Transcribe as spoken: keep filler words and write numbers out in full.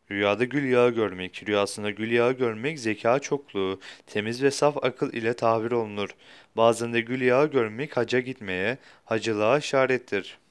Rüyada gül yağı görmek, rüyasında gül yağı görmek zeka çokluğu, temiz ve saf akıl ile tabir olunur. Bazen de gül yağı görmek hacca gitmeye, hacılığa işarettir.